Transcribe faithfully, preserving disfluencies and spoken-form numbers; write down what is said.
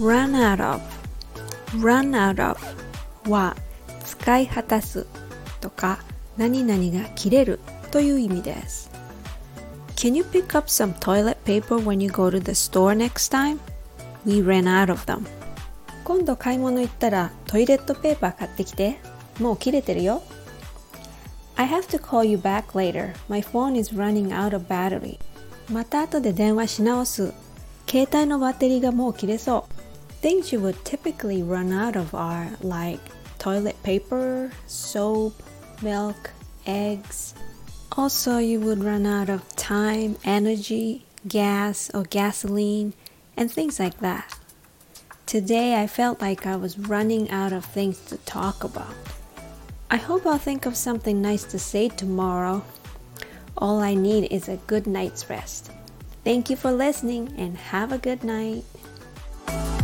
run out of run out of は使い果たすとか何々が切れるという意味です。Can you pick up some toilet paper when you go to the store next time? We ran out of them. 今度買い物行ったらトイレットペーパー買ってきて。もう切れてるよ。I have to call you back later. My phone is running out of battery. また後で電話し直す。携帯のバッテリーがもう切れそう。Things you would typically run out of are like toilet paper, soap, milk, eggs. Also, you would run out of time, energy, gas or gasoline, and things like that. Today, I felt like I was running out of things to talk about. I hope I'll think of something nice to say tomorrow. All I need is a good night's rest. Thank you for listening and have a good night.